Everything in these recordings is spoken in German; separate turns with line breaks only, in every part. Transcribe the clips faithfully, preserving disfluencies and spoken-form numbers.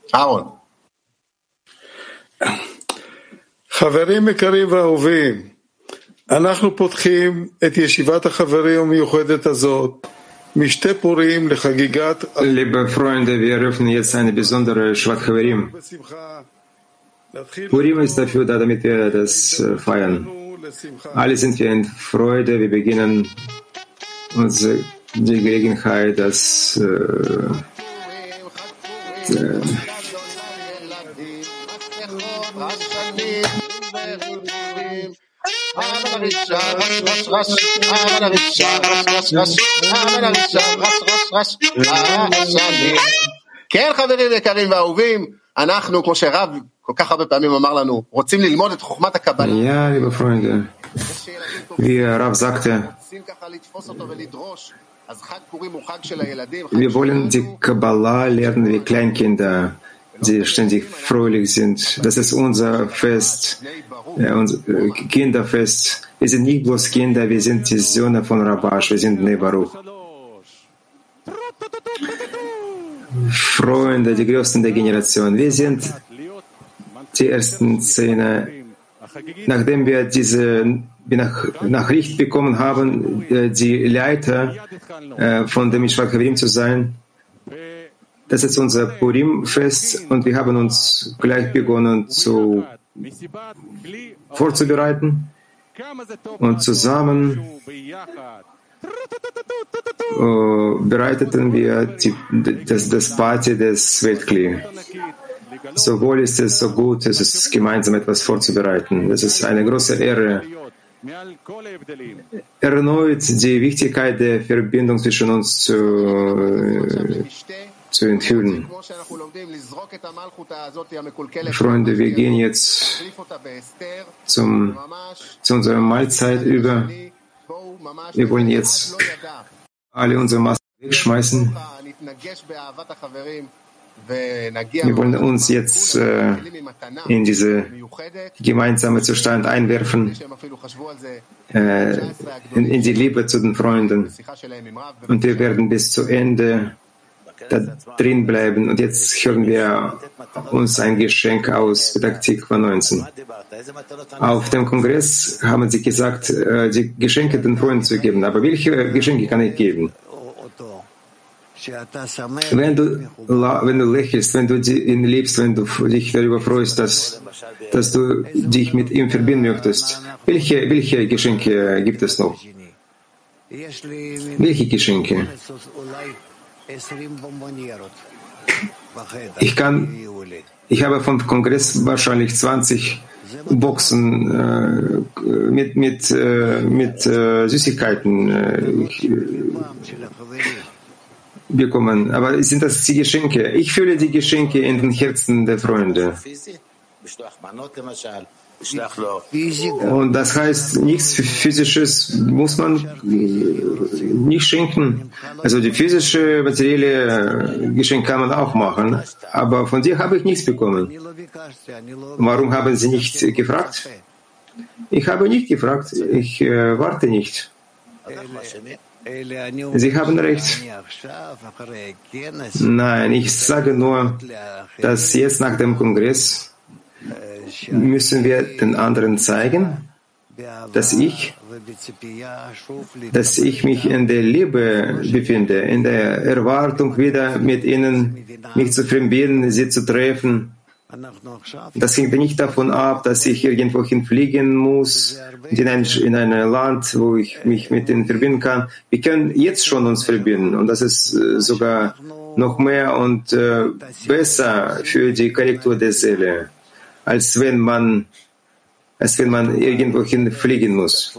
Aaron.
חברים יקרים ואהובים, אנחנו פותחים את ישיבת החברים המיוחדת הזאת משתי פורים לחגיגת...
Liebe Freunde, wir eröffnen jetzt eine besondere Shvat Chaverim. Purim ist dafür da, damit wir das feiern. Alle sind wir in Freude, wir beginnen unsere die Gelegenheit, dass äh, äh,
כן, חברים יקרים ואהובים, אנחנו, כמו שרב כל כך הרבה פעמים אמר לנו, רוצים ללמוד את חוכמת הקבלה.
Ja, liebe Freunde, wie Rav sagte, wir wollen die Kabbalah lernen wie Kleinkinder, die ständig fröhlich sind. Das ist unser Fest, äh, unser Kinderfest. Wir sind nicht bloß Kinder, wir sind die Söhne von Rabash, wir sind Bnei Baruch. Freunde, die Größten der Generation. Wir sind die ersten Szene, nachdem wir diese Nachricht bekommen haben, die Leiter von dem Shvat Chaverim zu sein. Das ist unser Purim-Fest und wir haben uns gleich begonnen zu vorzubereiten und zusammen uh, bereiteten wir die, das, das Party des Weltkli. Sowohl ist es so gut, es ist gemeinsam etwas vorzubereiten. Es ist eine große Ehre, erneut die Wichtigkeit der Verbindung zwischen uns zu, zu enthüllen. Freunde, wir gehen jetzt zum, zu unserer Mahlzeit über. Wir wollen jetzt alle unsere Masken wegschmeißen. Wir wollen uns jetzt äh, in diese gemeinsame Zustand einwerfen, äh, in, in die Liebe zu den Freunden. Und wir werden bis zu Ende da drin bleiben. Und jetzt hören wir uns ein Geschenk aus Petach Tikva neunzehn. Auf dem Kongress haben sie gesagt, äh, die Geschenke den Freunden zu geben. Aber welche Geschenke kann ich geben? Wenn du, wenn du lächelst, wenn du ihn liebst, wenn du dich darüber freust, dass, dass du dich mit ihm verbinden möchtest, welche, welche Geschenke gibt es noch? Welche Geschenke? Ich kann, ich habe vom Kongress wahrscheinlich zwanzig Boxen äh, mit, mit, äh, mit äh, Süßigkeiten äh, ich, bekommen. Aber sind das die Geschenke? Ich fühle die Geschenke in den Herzen der Freunde. Und das heißt, nichts Physisches muss man nicht schenken. Also die physische, materielle Geschenke kann man auch machen. Aber von dir habe ich nichts bekommen. Warum haben Sie nicht gefragt? Ich habe nicht gefragt. Ich äh, warte nicht. Sie haben recht. Nein, ich sage nur, dass jetzt nach dem Kongress müssen wir den anderen zeigen, dass ich, dass ich mich in der Liebe befinde, in der Erwartung, wieder mit ihnen mich zu verbinden, sie zu treffen. Das hängt nicht davon ab, dass ich irgendwo hinfliegen muss, in ein, in ein Land, wo ich mich mit ihnen verbinden kann. Wir können jetzt schon uns verbinden und das ist sogar noch mehr und äh, besser für die Korrektur der Seele, als wenn man, als wenn man irgendwo hinfliegen muss.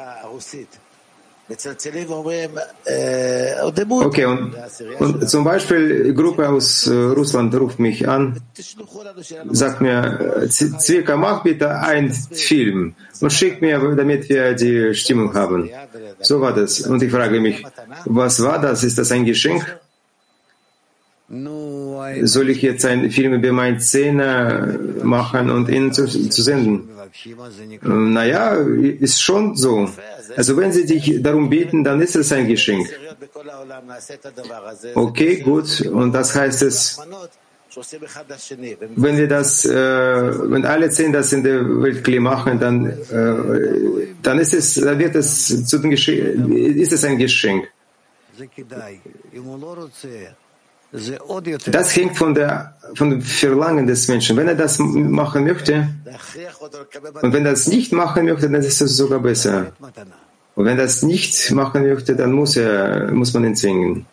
Okay, und, und zum Beispiel die Gruppe aus äh, Russland ruft mich an, sagt mir, Zwika, mach bitte einen Film und schickt mir, damit wir die Stimmung haben. So war das. Und ich frage mich, was war das? Ist das ein Geschenk? Soll ich jetzt einen Film über meine Szene machen und Ihnen zu, zu senden? Naja, ist schon so. Also wenn Sie dich darum beten, dann ist es ein Geschenk. Okay, gut. Und das heißt es, Wenn wir das, äh, wenn alle zehn das in der Welt klar machen, dann, äh, dann ist es, dann wird es zu den Geschenk, ist es ein Geschenk. Das hängt von der, von dem Verlangen des Menschen. Wenn er das machen möchte, und wenn er das nicht machen möchte, dann ist es sogar besser. Und wenn er das nicht machen möchte, dann muss er, muss man ihn zwingen,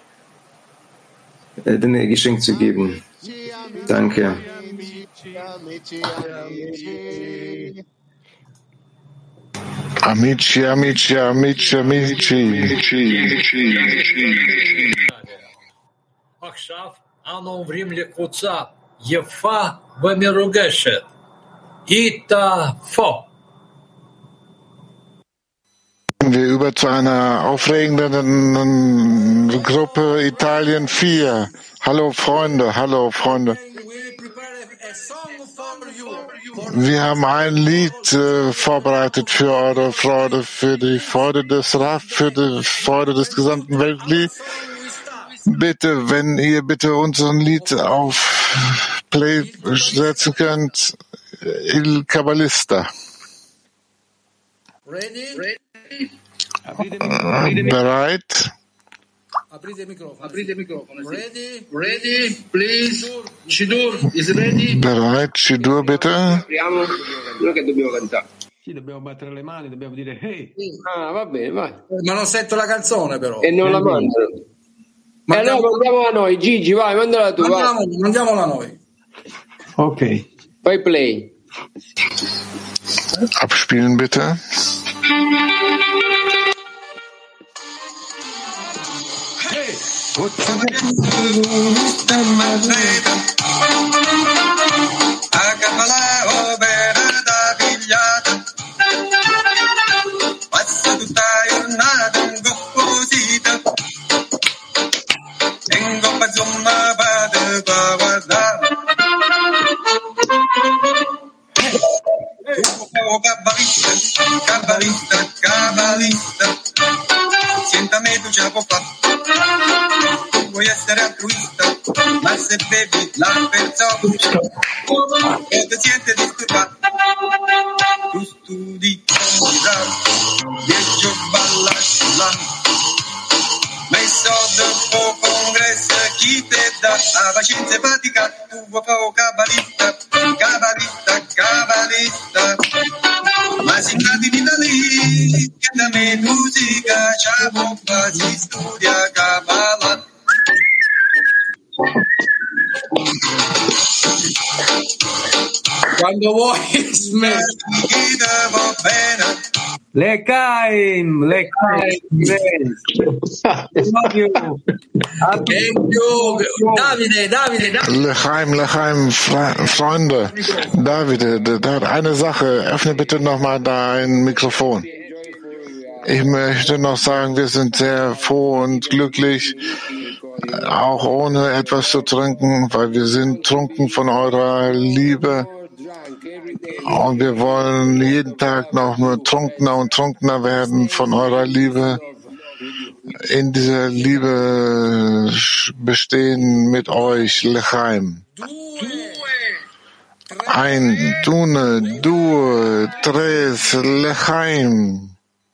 den Geschenk zu geben. Danke.
Amici, amici, amici, amici.
עכשיו אנו עוברים לקבוצה יפה ומרוגשת. איטה-פו.
Wir über zu einer aufregenden Gruppe Italien vier. Hallo Freunde, hallo Freunde. Wir haben ein Lied äh, vorbereitet für eure Freude, für die Freude des Raf, für die Freude des gesamten Weltlieds. Bitte, wenn ihr bitte unseren Lied auf Play setzen könnt, Il Kabbalista.
Ready?
Bereit?
Ready? Ready? Please? Shidur is ready?
Bereit? Shidur, bitte?
Non che dobbiamo cantare. Sì, dobbiamo battere le mani, dobbiamo dire hey. Ah, va bene, vai.
Ma non sento la canzone però.
E non la mandano. E allora mandiamola noi, Gigi, vai, mandala tu.
Mandiamo, mandiamola noi.
Ok. Fai play.
Abspielen bitte.
Hey.
Passa tutta la giornata in composita, in coppa insomma vado a guardare. Oh, cabalista, cabalista, cabalista, siéntame tu chapo fa. Vuoi essere altruista, ma se bevi la persona, e ti siete disturbato. Tu studi con dieci balla sulla messo dopo congresso chi te dà la pazienza e fatica tu vuoi fare cabalista cabalista cabalista ma si cade in Italia che da me musica c'è si studia cabala.
Quando vuoi smetti.
L'Echaim, l'Echaim.
Davide, Davide, Davide.
L'Echaim, L'Echaim, Freunde. Davide, da hat eine Sache. Öffne bitte nochmal da ein Mikrofon. Ich möchte noch sagen, wir sind sehr froh und glücklich, auch ohne etwas zu trinken, weil wir sind trunken von eurer Liebe. Und wir wollen jeden Tag noch nur trunkener und trunkener werden von eurer Liebe. In dieser Liebe bestehen mit euch, L'Echaim. Ein, Dune, Due, Tres, L'Echaim.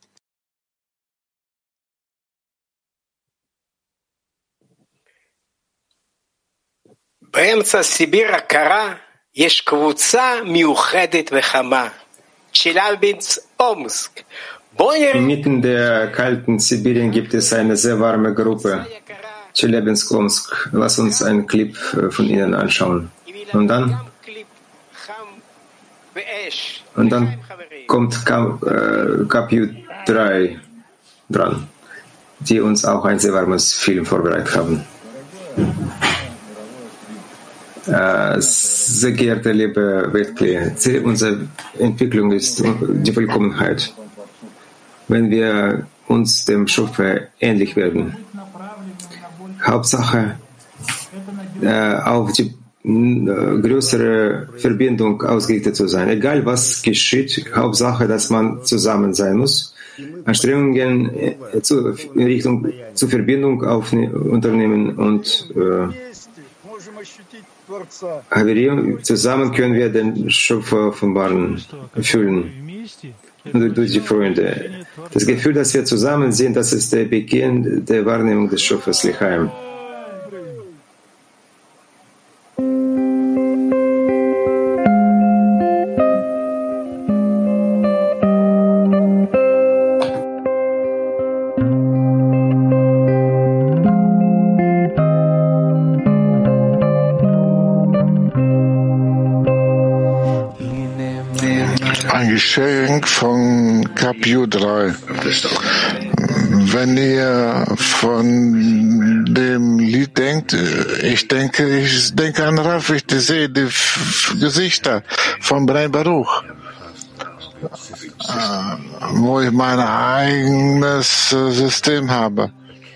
באמצע סיביר הקרה יש קבוצה מיוחדת וחמה, צ'לאבינסק-אומסק.
Inmitten der kalten Sibirien gibt es eine sehr warme Gruppe, Chelyabinsk-Omsk. Lass uns einen Clip von ihnen anschauen. Und dann, und dann kommt K P U drei dran, die uns auch ein sehr warmes Film vorbereitet haben. Sehr geehrte liebe Weltklee, Ziel unserer Entwicklung ist die Vollkommenheit. Wenn wir uns dem Schöpfer ähnlich werden. Hauptsache auf die größere Verbindung ausgerichtet zu sein. Egal was geschieht, Hauptsache, dass man zusammen sein muss. Anstrengungen in Richtung zur Verbindung auf, unternehmen und äh, Haverim, zusammen können wir den Schöpfer offenbaren, fühlen. Durch, durch die Freunde. Das Gefühl, dass wir zusammen sind, das ist der Beginn der Wahrnehmung des Schöpfers L'chaim.
Ein Geschenk von Kapitel drei. Wenn ihr von dem Lied denkt, ich denke, ich denke an Rav, ich sehe die Gesichter von Bnei Baruch, wo ich mein eigenes System habe.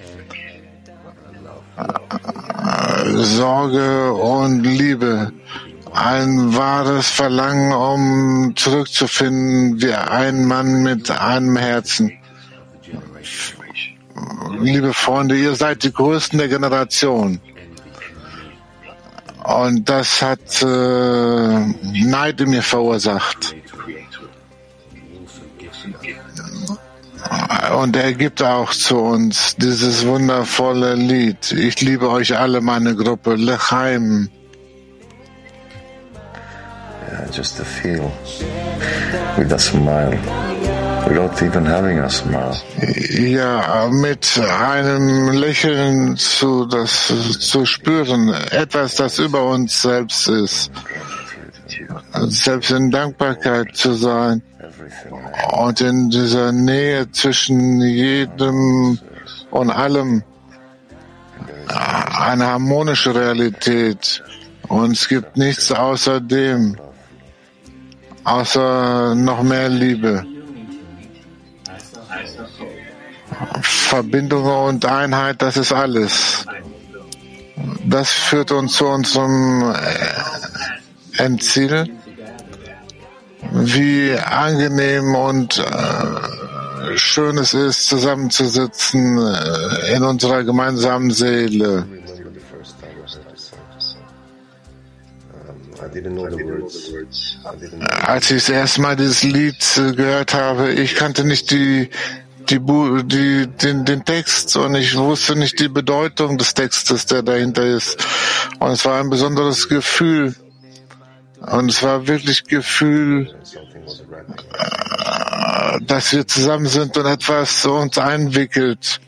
Sorge und Liebe. Ein wahres Verlangen, um zurückzufinden wie ein Mann mit einem Herzen. Liebe Freunde, ihr seid die Größten der Generation. Und das hat äh, Neid in mir verursacht. Und er gibt auch zu uns dieses wundervolle Lied. Ich liebe euch alle, meine Gruppe, L'chaim.
Yeah, just to feel with a smile, without even having a smile.
Ja, mit einem Lächeln zu, das zu spüren, etwas, das über uns selbst ist, selbst in Dankbarkeit zu sein und in dieser Nähe zwischen jedem und allem eine harmonische Realität. Und es gibt nichts außer dem. Außer noch mehr Liebe. Verbindung und Einheit, das ist alles. Das führt uns zu unserem Endziel. Wie angenehm und äh, schön es ist, zusammenzusitzen äh, in unserer gemeinsamen Seele. Als ich das erste Mal dieses Lied gehört habe, ich kannte nicht die, die, die, den, den Text und ich wusste nicht die Bedeutung des Textes, der dahinter ist. Und es war ein besonderes Gefühl. Und es war wirklich Gefühl, dass wir zusammen sind und etwas uns einwickelt.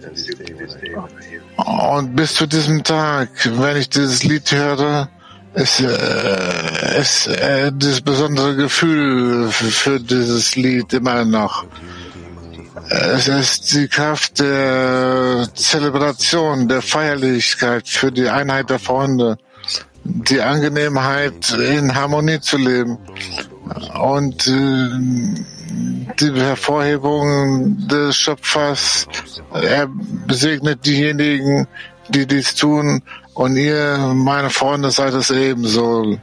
Und bis zu diesem Tag, wenn ich dieses Lied höre, ist, äh, ist äh, dieses besondere Gefühl für, für dieses Lied immer noch. Es ist die Kraft der Zelebration, der Feierlichkeit für die Einheit der Freunde, die Angenehmheit, in Harmonie zu leben und äh, die Hervorhebung des Schöpfers. Er besegnet diejenigen, die dies tun, und ihr, meine Freunde, seid es ebenso.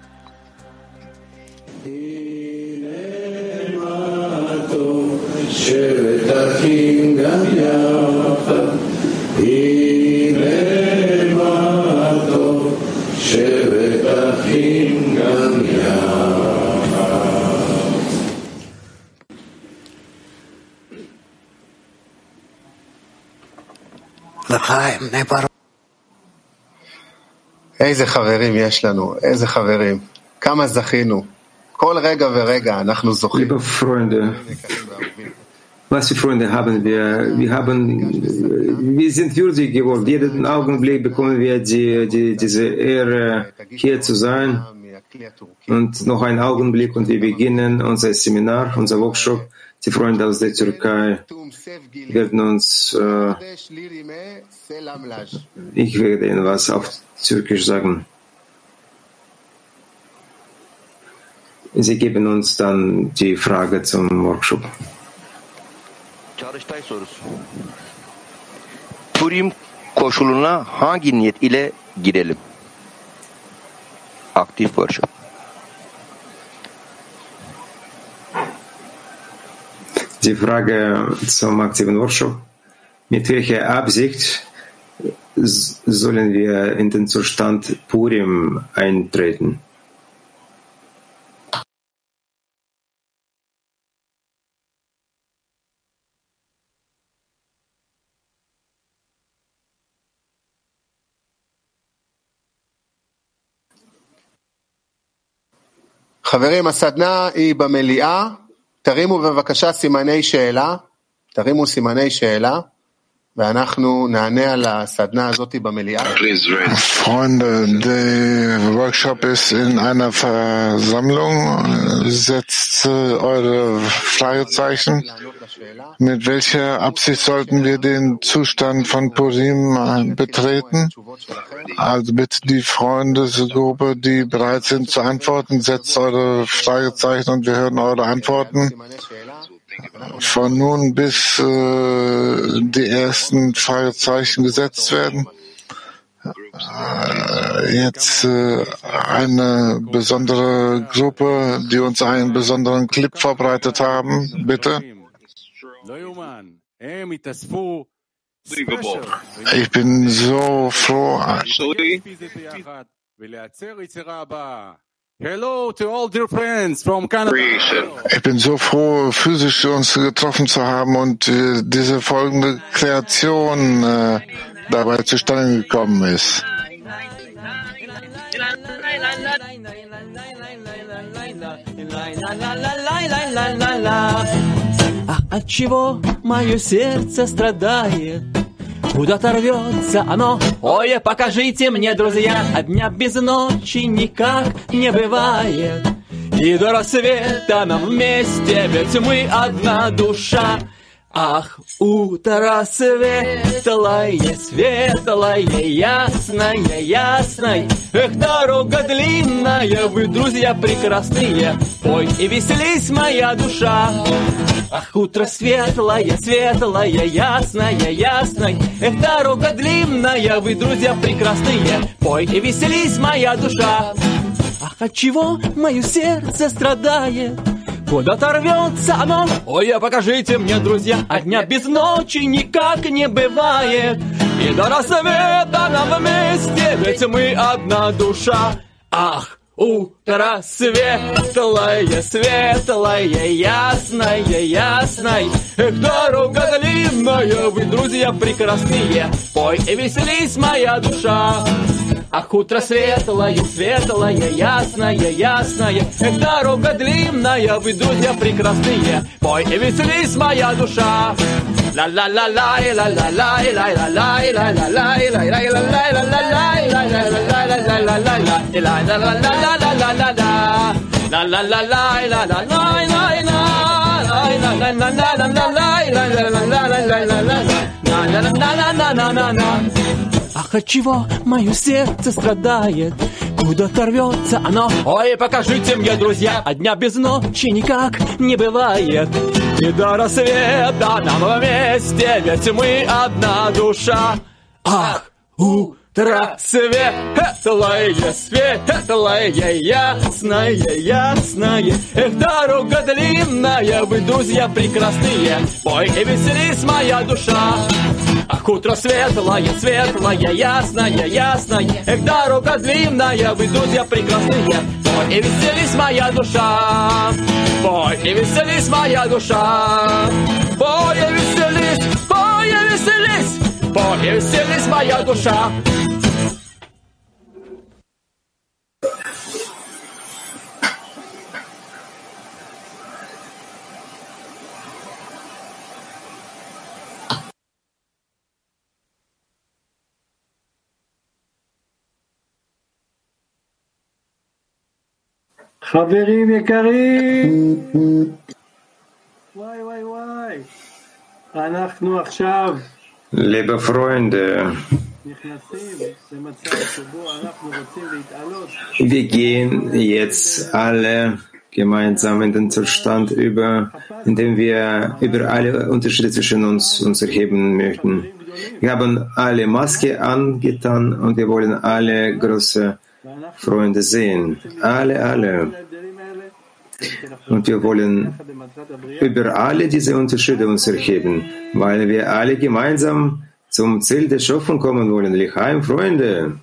איזה חברים יש לנו, איזה חברים, כמה זכינו, כל רגע ורגע אנחנו זוכים.
Liebe Freunde, was für Freunde haben wir? Wir haben, wir sind würdig geworden. Jeden Augenblick bekommen wir die, die, diese Ehre, hier zu sein. Und noch ein Augenblick und wir beginnen unser Seminar, unser Workshop. Die Freunde aus der Türkei werden uns, äh, ich werde Ihnen was auf Türkisch sagen. Sie geben uns dann die Frage zum Workshop.
Çalıştay sorusu. Purim koşuluna hangi niyet ile girelim? Aktif workshop.
Die Frage zum aktiven Workshop. Mit welcher Absicht sollen wir in den Zustand Purim eintreten.
חברים, הסדנה היא במליאה, תרימו בבקשה סימני שאלה, תרימו סימני שאלה, ואנחנו נענה על הסדנה הזאת במליאה.
Freunde, der Workshop ist in einer Versammlung. Setzt eure Fragezeichen. Mit welcher Absicht sollten wir den Zustand von Purim betreten? Also bitte die Freundesgruppe, die bereit sind zu antworten, setzt eure Fragezeichen und wir hören eure Antworten. Von nun bis äh, die ersten Fragezeichen gesetzt werden. Äh, jetzt äh, eine besondere Gruppe, die uns einen besonderen Clip vorbereitet haben. Bitte. Ich bin so froh.
Hello to all dear friends from Canada.
Ich bin so froh, physisch uns getroffen zu haben und äh, diese folgende Kreation äh, dabei zustande gekommen ist.
А от чего мое сердце страдает? Куда-то рвется оно. Ой, покажите мне, друзья, а дня без ночи никак не бывает. И до рассвета нам вместе, ведь мы одна душа. Ах, утро светлое, светлое, ясное, ясное. Эх, дорога длинная, вы, друзья, прекрасные. Ой, и веселись, моя душа. Ах, утро светлое, светлое, ясное, ясное. Эх, дорога длинная, вы, друзья, прекрасные. Пой и веселись, моя душа. Ах, от чего мое сердце страдает? Куда-то рвется оно. Ой, а покажите мне, друзья, а дня без ночи никак не бывает. И до рассвета нам вместе, ведь мы одна душа. Ах, утро светлое, светлое, ясное, ясное. Эх, дорога длинная, вы, друзья, прекрасные. Пой и веселись, моя душа. Ах, утро светлое, светлое, ясное, ясное. Эх, дорога длинная, вы, друзья, прекрасные. Пой и веселись, моя душа. La la la la la la la la la la la la la Ах, от чего мое сердце страдает? Куда-то рвется оно. Ой, покажите мне, друзья, а дня без ночи никак не бывает. И до рассвета нам вместе, ведь мы одна душа. Ах, утро светлое, светлое, ясное, ясное. Эх, дорога длинная, вы, друзья, прекрасные. Пой и веселись, моя душа. Ах, утро светлое, светлое, ясное, ясное. Эх, дорога длинная, вы, друзья, прекрасные. Пой и веселись, моя душа. Пой и веселись, моя душа. Пой и веселись, пой и веселись. Пой и веселись, моя душа.
חברים יקרים, וואי וואי וואי, אנחנו עכשיו
Liebe Freunde,
נכנסים למצב שבו אנחנו רוצים להתעלות.
wir gehen jetzt alle gemeinsam in den Zustand über, in dem wir über alle Unterschiede zwischen uns uns erheben möchten. Wir haben alle Maske angetan und wir wollen alle große Freunde sehen. Alle, alle. Und wir wollen über alle diese Unterschiede uns erheben, weil wir alle gemeinsam zum Ziel der Schöpfung kommen wollen. L'chaim, Freunde.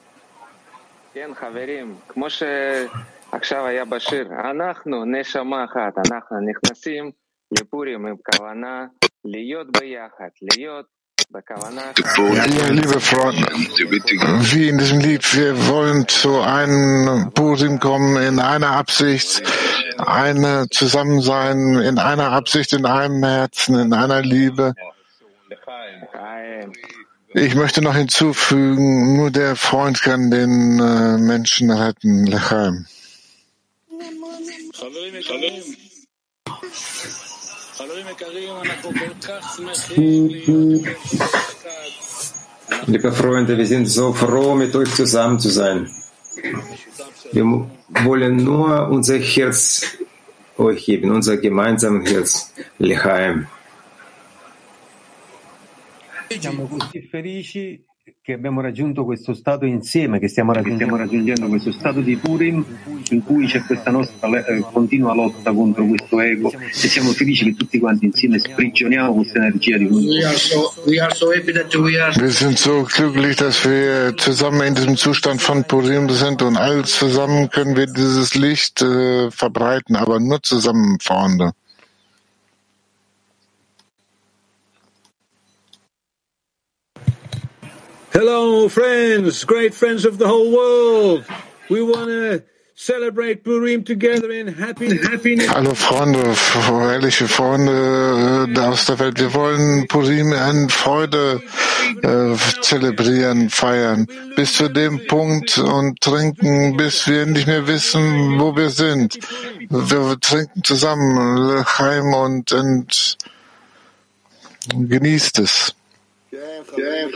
עכשיו היה בשיר, אנחנו נשמה אחת, אנחנו נכנסים לפורים עם כוונה להיות ביחד, להיות בכוונה אחת.
Ja, liebe Freunde, wie in diesem Lied, wir wollen zu einem Purim kommen in einer Absicht, eine Zusammensein, in einer Absicht, in einem Herzen, in einer Liebe. Ich möchte noch hinzufügen, nur der Freund kann den äh, Menschen retten. L'chaim.
Liebe Freunde, wir sind so froh, mit euch zusammen zu sein. Wir wollen nur unser Herz euch geben, unser gemeinsames Herz. L'chaim.
Siamo così felici che abbiamo raggiunto questo stato insieme, che stiamo raggiungendo, raggiungendo questo stato di Purim in cui c'è questa nostra eh, continua lotta contro questo ego e siamo felici che tutti quanti insieme sprigioniamo questa energia di Purim.
Wir sind so glücklich, dass wir zusammen in diesem Zustand von Purim sind und alle zusammen können wir dieses Licht äh, verbreiten, aber nur zusammen, Freunde.
Hello, friends, great friends of the whole world. We want to celebrate Purim together in happy, happiness.
Hallo Freunde, ehrliche Freunde äh, aus der Welt. Wir wollen Purim in Freude äh, zelebrieren, feiern, bis zu dem Punkt und trinken, bis wir nicht mehr wissen, wo wir sind. Wir trinken zusammen, L'chaim, und, und genießt es.
Ja,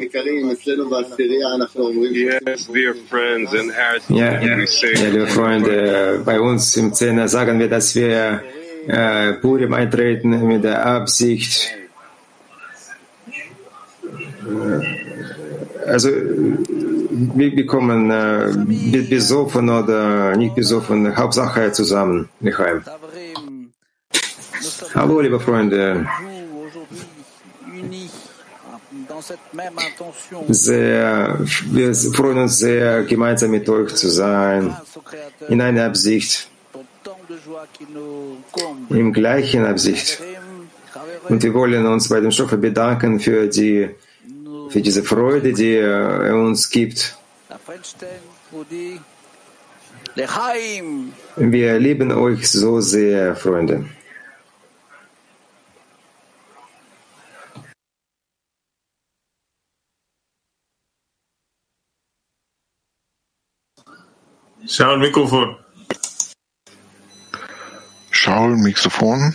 ja, liebe Freunde, bei uns im Zehner sagen wir, dass wir äh, Purim eintreten mit der Absicht, äh, also wir, wir kommen äh, besoffen oder nicht besoffen, Hauptsache zusammen, L'chaim. Hallo, liebe Freunde. Sehr, wir freuen uns sehr, gemeinsam mit euch zu sein, in einer Absicht, in gleichen Absicht. Und wir wollen uns bei dem Schöpfer bedanken für die, für diese Freude, die er uns gibt. Wir lieben euch so sehr, Freunde.
Shaul, Mikrofon.
Shaul, Mikrofon.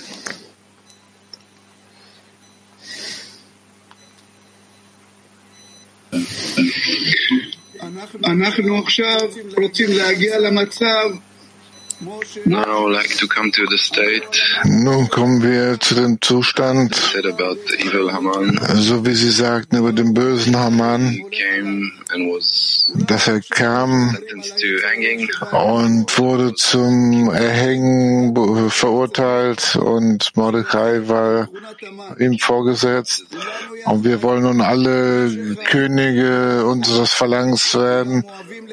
אנחנו עכשיו רוצים להגיע למצב.
Now like to come to the state.
Nun kommen wir zu dem Zustand,
Said about the evil Haman.
so wie Sie sagten, über den bösen Haman,
He came and was
dass er kam
sentenced to hanging.
und wurde zum Erhängen verurteilt und Mordechai war ihm vorgesetzt. Und wir wollen nun alle Könige unseres Verlangens werden,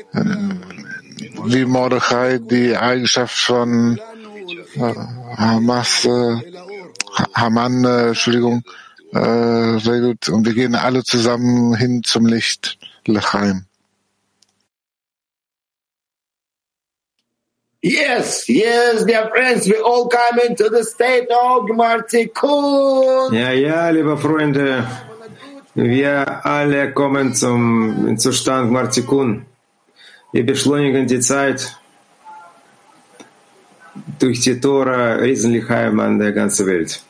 wie Mordechai die Eigenschaft von äh, Hamas, äh, Haman, äh, Entschuldigung, äh, redet. Und wir gehen alle zusammen hin zum Licht, L'chaim.
Yes, yes, dear friends, we all come into the state of Gmar Tikkun.
Ja, ja, liebe Freunde, wir alle kommen zum Zustand Gmar Tikkun. Wir beschleunigen die Zeit durch die Tora, riesen L'chaim an der ganzen Welt.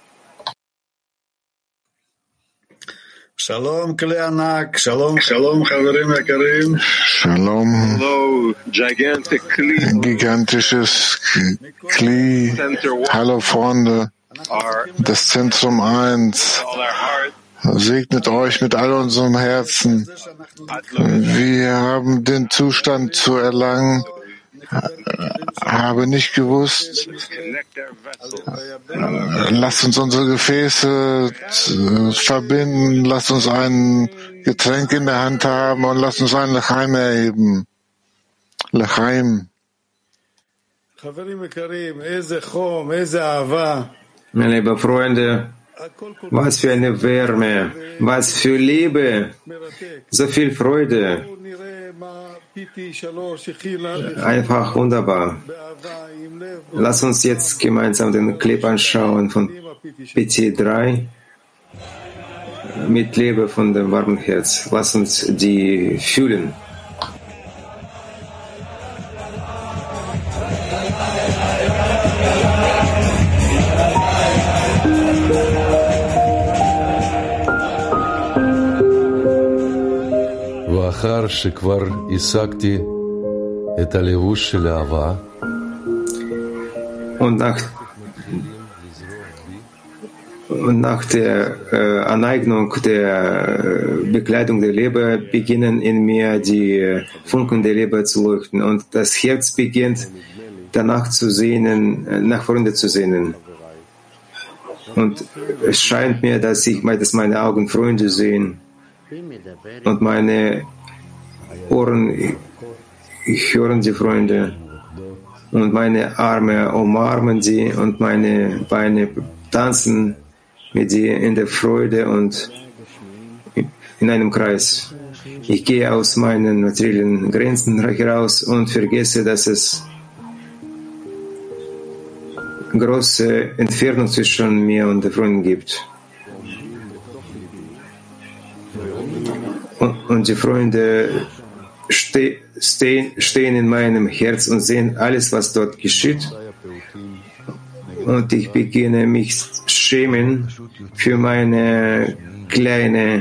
Shalom, Kleanak, Shalom, Shalom, Chavarim Yakarim.
Shalom.
Hello, gigantic Kli.
Gigantisches Kli. Hallo Freunde. Das Zentrum eins. Segnet euch mit all unserem Herzen. Wir haben den Zustand zu erlangen, habe nicht gewusst, Lasst uns unsere Gefäße verbinden, lasst uns ein Getränk in der Hand haben und lasst uns ein Lechaim erheben. Lechaim.
Meine lieben Freunde, was für eine Wärme, was für Liebe, so viel Freude. Einfach wunderbar. Lass uns jetzt gemeinsam den Clip anschauen von P T drei mit Liebe von dem warmen Herz. Lass uns die fühlen.
לאחר שכבר השגתי את הלבוש של אהבה,
und nach, und nach der äh, Aneignung der Bekleidung der Liebe beginnen in mir die Funken der Liebe zu leuchten und das Herz beginnt danach zu sehnen, nach vorne zu sehnen. Und es scheint mir, dass ich, dass meine Augen Freunde sehen und meine Ohren hören die Freunde und meine Arme umarmen sie und meine Beine tanzen mit sie in der Freude und in einem Kreis. Ich gehe aus meinen materiellen Grenzen heraus und vergesse, dass es große Entfernung zwischen mir und den Freunden gibt. Und, und die Freunde ste, stehen, stehen in meinem Herz und sehen alles, was dort geschieht. Und ich beginne mich schämen für meine kleinen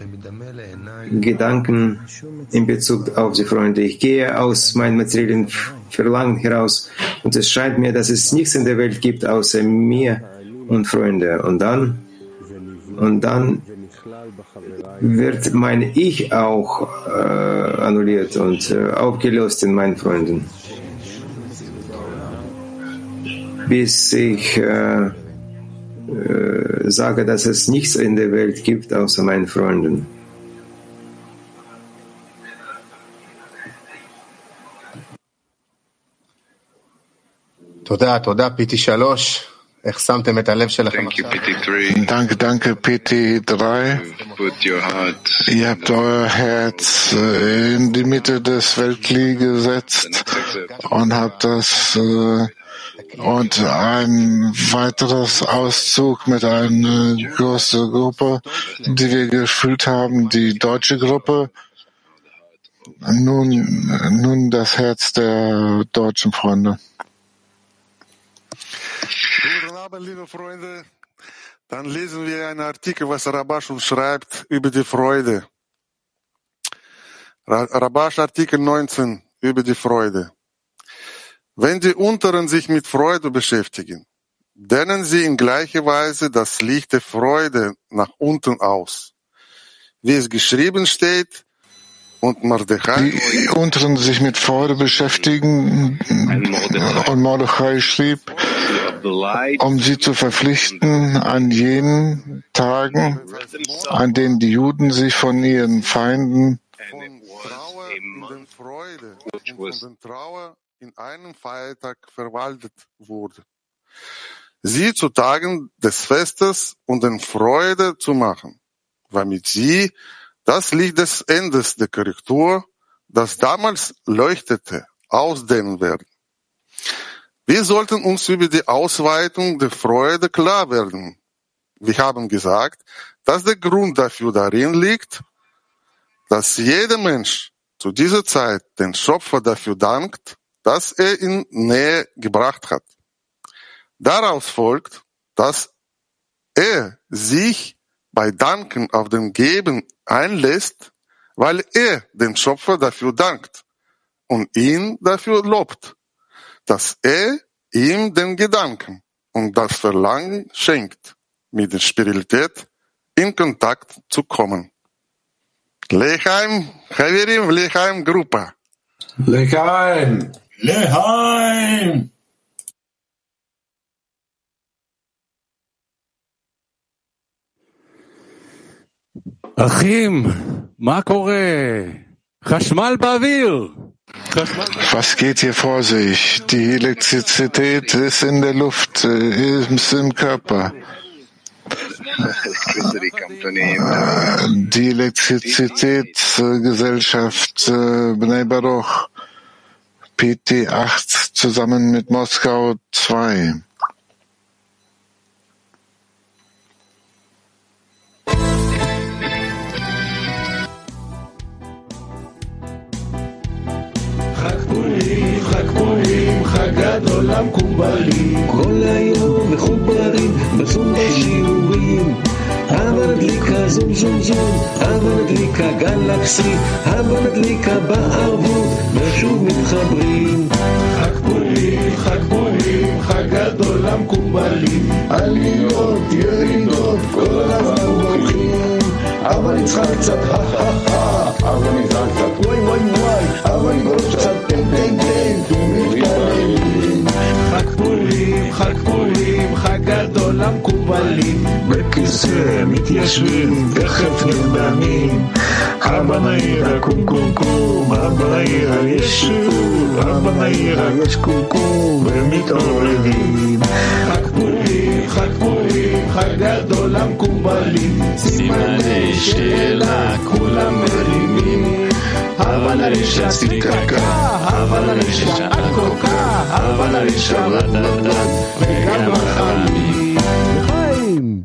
Gedanken in Bezug auf die Freunde. Ich gehe aus meinem materiellen Verlangen heraus und es scheint mir, dass es nichts in der Welt gibt außer mir und Freunde. Und dann, und dann wird mein Ich auch äh, annulliert und äh, aufgelöst in meinen Freunden. Bis ich äh, äh, sage, dass es nichts in der Welt gibt außer meinen Freunden.
תודה, תודה, פי טי שלוש. איך שמתם את הלב שלכם עכשיו?
Danke, danke, P T drei. Ihr habt euer Herz in die Mitte des Weltkli gesetzt und habt das äh, und ein weiteres Auszug mit einer großen Gruppe, die wir gefühlt haben, die deutsche Gruppe. Nun, nun das Herz der deutschen Freunde.
Guten Abend, liebe Freunde. Dann lesen wir einen Artikel, was Rabash uns schreibt über die Freude. Rabash Artikel neunzehn über die Freude. Wenn die Unteren sich mit Freude beschäftigen, dehnen sie in gleicher Weise das Licht der Freude nach unten aus. Wie es geschrieben steht, und Mordechai,
die Unteren sich mit Freude beschäftigen, und Mordechai schrieb, um sie zu verpflichten an jenen Tagen, an denen die Juden sich von ihren Feinden
von Trauer in einem Feiertag verwaltet wurde, sie zu Tagen des Festes und in Freude zu machen, damit sie das Licht des Endes der Korrektur, das damals leuchtete, ausdehnen werden. Wir sollten uns über die Ausweitung der Freude klar werden. Wir haben gesagt, dass der Grund dafür darin liegt, dass jeder Mensch zu dieser Zeit den Schöpfer dafür dankt, dass er ihn Nähe gebracht hat. Daraus folgt, dass er sich bei Danken auf den Geben einlässt, weil er den Schöpfer dafür dankt und ihn dafür lobt, dass er ihm den Gedanken und das Verlangen schenkt, mit der Spiritualität in Kontakt zu kommen. Lechaim, Chavirim, Lechaim, Gruppe.
Lechaim.
Lechaim.
אחים, מה קורה? חשמל באוויר.
Was geht hier vor sich? Die Elektrizität ist in der Luft, ist im Körper. Die Elektrizitätsgesellschaft Bnei Baruch, P T acht zusammen mit Moskau zwei.
חג פורים, חג גדול המקובלים, כל היום מחוברים בזום בשיעורים. הבה נדליקה זום זום זום, הבה נדליקה גלקסי, הבה נדליקה בערבות ושוב מתחברים. חג פורים, חג פורים, חג גדול המקובלים, עליות ירידות כל הזמן הולכים. אבל נצחק קצת הא הא הא, אבל נצחק קצת וואי וואי וואי, אבל נגרוש קצת טן טן טן ומתקללים. חג פורים, חג פורים, חג גדול המקובלים, בכיסא מתיישבים תכף נרדמים. הבה נעירה קום קום קום, הבה נעירה יש שוב, הבה נעירה יש קום קום ומתעוררים. חג פורים, חג פורים, חג גדול המקובלים, סימני שאלה כולם מרימים. הבה נרישה סיקקה, הבה נרישה עקוקה, הבה נרישה רדדד וגם החמים. לחיים!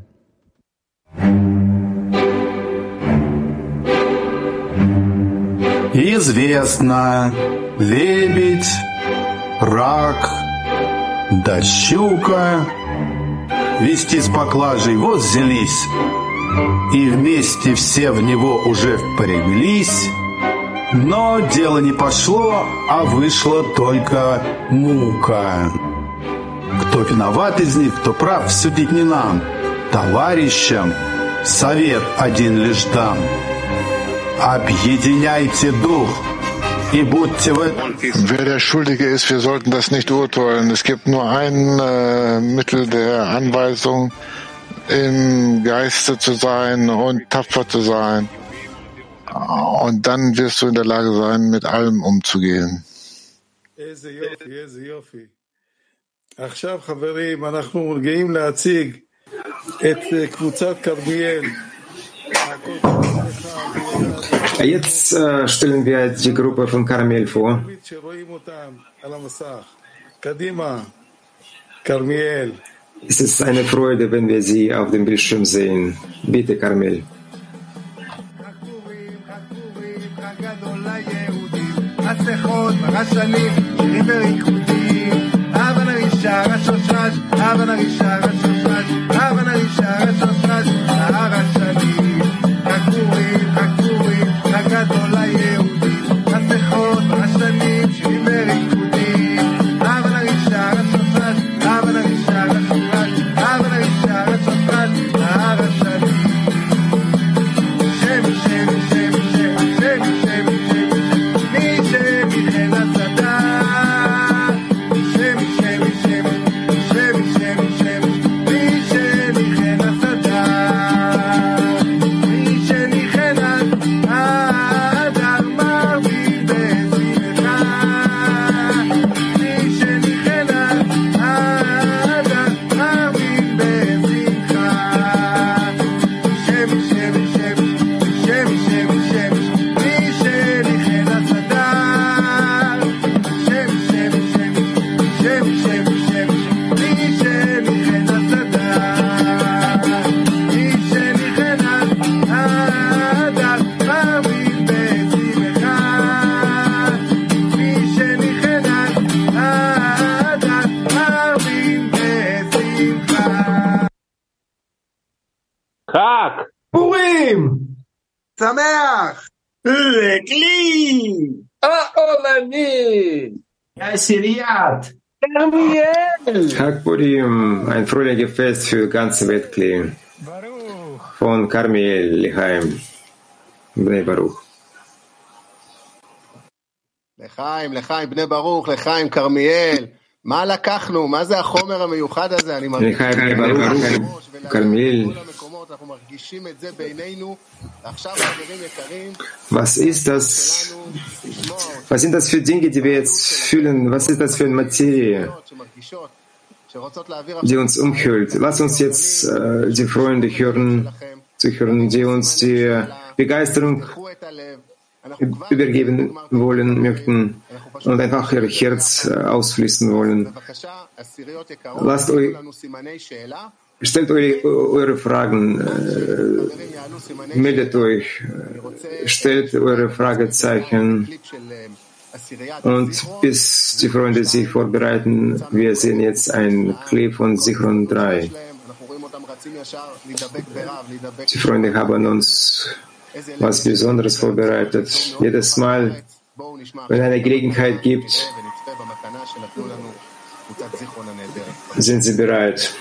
Известно, лебедь, рак, да щука вести с поклажей вот взялись, и вместе все в него уже впряглись, но дело не пошло, а вышла только мука. Кто виноват из них, кто прав, судить не нам, товарищам совет один лишь дам. Объединяйте дух и будьте в этом.
Wer der Schuldige ist, wir sollten das nicht urteilen. Es gibt nur ein äh, Mittel der Anweisung, im Geiste zu sein und tapfer zu sein. Und dann wirst du in der Lage sein, mit allem umzugehen.
עכשיו חברים, אנחנו גאים להציג את קבוצת כרמיאל.
Jetzt äh, stellen wir die Gruppe von Karmiel vor. Es ist eine Freude, wenn wir sie auf dem Bildschirm sehen. Bitte, Karmiel.
הגדול היהודי, הסליחות והשנים שירים בריקודים. הבה נרישה רצופת, הבה נרישה רצופת, הבה נרישה רצופת, נהר השנים. שמי שמי שמי שמי שמי שמי שמי מי שמי חן הצדה. שמי שמי שמי שמי שמי שמי מי שמי חן הצדה. מי שמי חן הצדה.
חג פורים שמח לכלי העולמי עשיריית כרמיאל.
Chag Purim, ein fröhliches Fest für ganze Weltklee. Von Karmiel, Lechaim, Bnei Baruch.
לחיים, לחיים, בני ברוך, לחיים, כרמיאל. מה לקחנו? מה זה החומר המיוחד הזה? אני מרגיש...
לחיים, בני ברוך, כרמיאל. Was ist das? Was sind das für Dinge, die wir jetzt fühlen? Was ist das für eine Materie, die uns umhüllt? Lass uns jetzt äh, die Freunde hören, zu hören, die uns die Begeisterung übergeben wollen möchten und einfach ihr Herz äh, ausfließen wollen. Lasst euch, stellt euch eure Fragen, äh, meldet euch, äh, stellt eure Fragezeichen und bis die Freunde sich vorbereiten, wir sehen jetzt ein Clip von Sichron drei. Die Freunde haben uns was Besonderes vorbereitet. Jedes Mal, wenn eine Gelegenheit gibt, sind sie bereit.